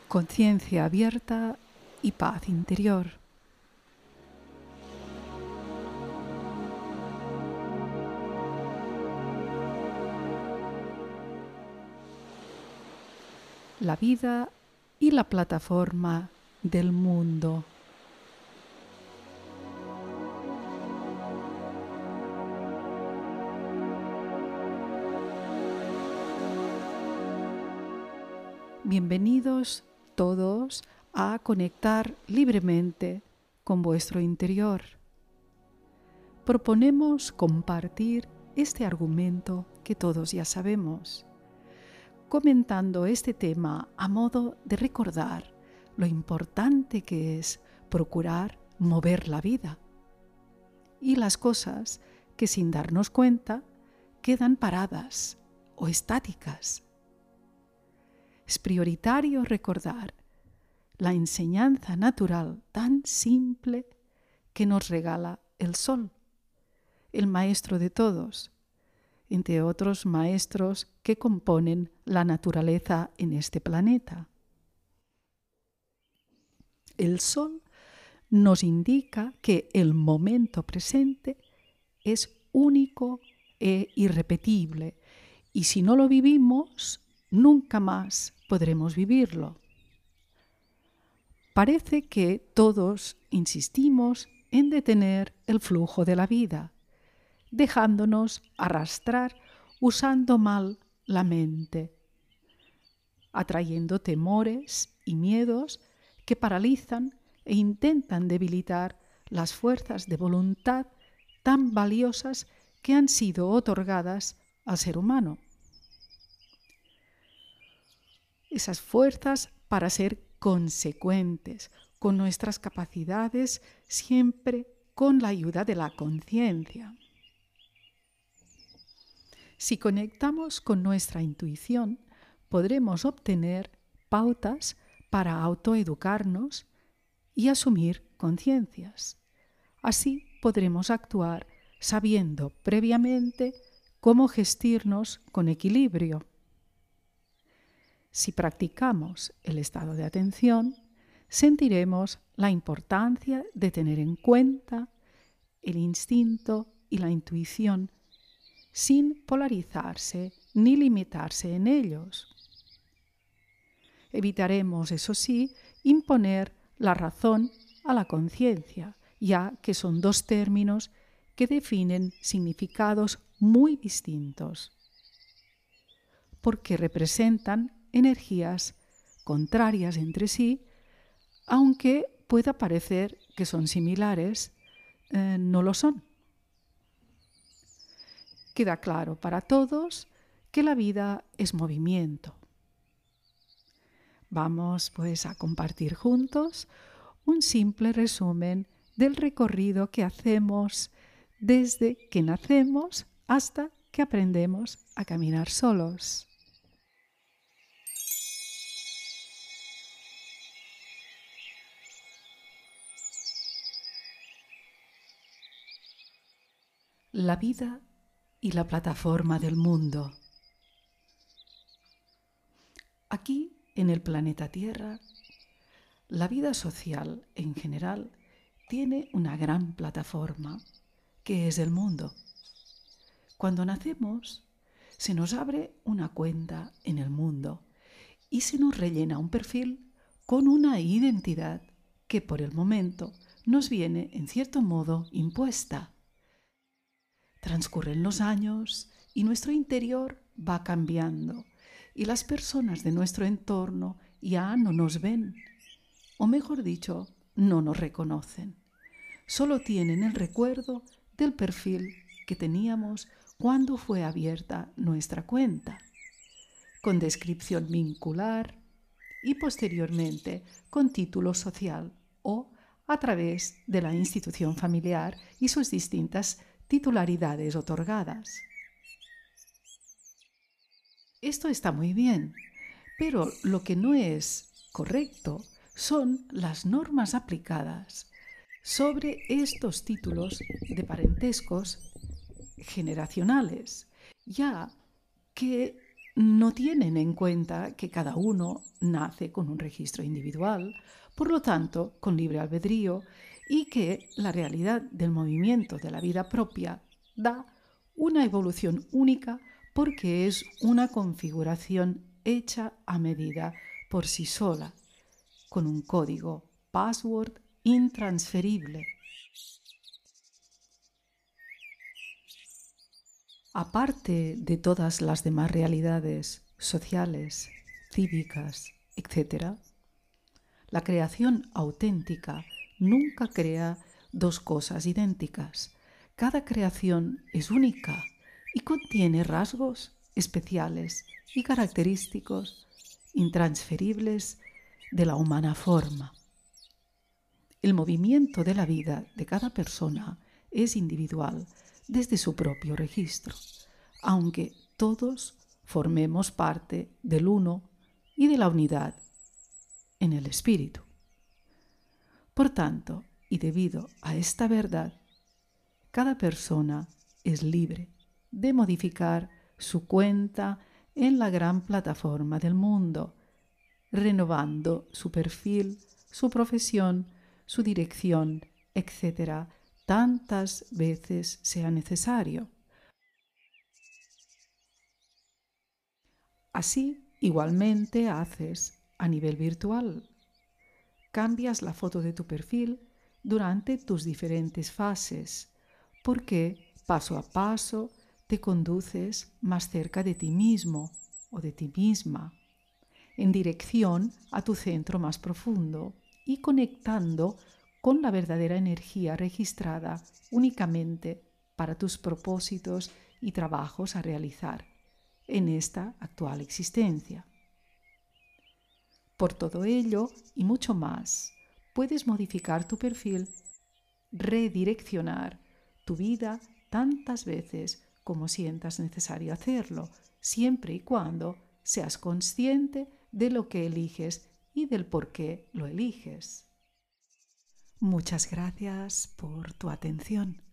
conciencia abierta y paz interior. La vida y la plataforma del mundo. Bienvenidos todos a conectar libremente con vuestro interior. Proponemos compartir este argumento que todos ya sabemos, comentando este tema a modo de recordar lo importante que es procurar mover la vida y las cosas que sin darnos cuenta quedan paradas o estáticas. Es prioritario recordar la enseñanza natural tan simple que nos regala el sol, el maestro de todos, entre otros maestros que componen la naturaleza en este planeta. El sol nos indica que el momento presente es único e irrepetible, y si no lo vivimos, nunca más podremos vivirlo. Parece que todos insistimos en detener el flujo de la vida, dejándonos arrastrar usando mal la mente, atrayendo temores y miedos que paralizan e intentan debilitar las fuerzas de voluntad tan valiosas que han sido otorgadas al ser humano. Esas fuerzas para ser consecuentes con nuestras capacidades, siempre con la ayuda de la conciencia. Si conectamos con nuestra intuición, podremos obtener pautas para autoeducarnos y asumir conciencias. Así podremos actuar sabiendo previamente cómo gestirnos con equilibrio. Si practicamos el estado de atención, sentiremos la importancia de tener en cuenta el instinto y la intuición sin polarizarse ni limitarse en ellos. Evitaremos, eso sí, imponer la razón a la conciencia, ya que son dos términos que definen significados muy distintos, porque representan energías contrarias entre sí, aunque pueda parecer que son similares, no lo son. Queda claro para todos que la vida es movimiento. Vamos pues a compartir juntos un simple resumen del recorrido que hacemos desde que nacemos hasta que aprendemos a caminar solos. La vida y la plataforma del mundo. Aquí, en el planeta Tierra, la vida social en general tiene una gran plataforma, que es el mundo. Cuando nacemos, se nos abre una cuenta en el mundo y se nos rellena un perfil con una identidad que por el momento nos viene, en cierto modo, impuesta. Transcurren los años y nuestro interior va cambiando y las personas de nuestro entorno ya no nos ven, o mejor dicho, no nos reconocen. Solo tienen el recuerdo del perfil que teníamos cuando fue abierta nuestra cuenta, con descripción vincular y posteriormente con título social o a través de la institución familiar y sus distintas titularidades otorgadas. Esto está muy bien, pero lo que no es correcto son las normas aplicadas sobre estos títulos de parentescos generacionales, ya que no tienen en cuenta que cada uno nace con un registro individual, por lo tanto, con libre albedrío, y que la realidad del movimiento de la vida propia da una evolución única porque es una configuración hecha a medida por sí sola, con un código password intransferible. Aparte de todas las demás realidades sociales, cívicas, etc., la creación auténtica nunca crea dos cosas idénticas. Cada creación es única y contiene rasgos especiales y característicos intransferibles de la humana forma. El movimiento de la vida de cada persona es individual desde su propio registro, aunque todos formemos parte del uno y de la unidad en el espíritu. Por tanto, y debido a esta verdad, cada persona es libre de modificar su cuenta en la gran plataforma del mundo, renovando su perfil, su profesión, su dirección, etc., tantas veces sea necesario. Así, igualmente haces a nivel virtual. Cambias la foto de tu perfil durante tus diferentes fases, porque paso a paso te conduces más cerca de ti mismo o de ti misma, en dirección a tu centro más profundo y conectando con la verdadera energía registrada únicamente para tus propósitos y trabajos a realizar en esta actual existencia. Por todo ello y mucho más, puedes modificar tu perfil, redireccionar tu vida tantas veces como sientas necesario hacerlo, siempre y cuando seas consciente de lo que eliges y del por qué lo eliges. Muchas gracias por tu atención.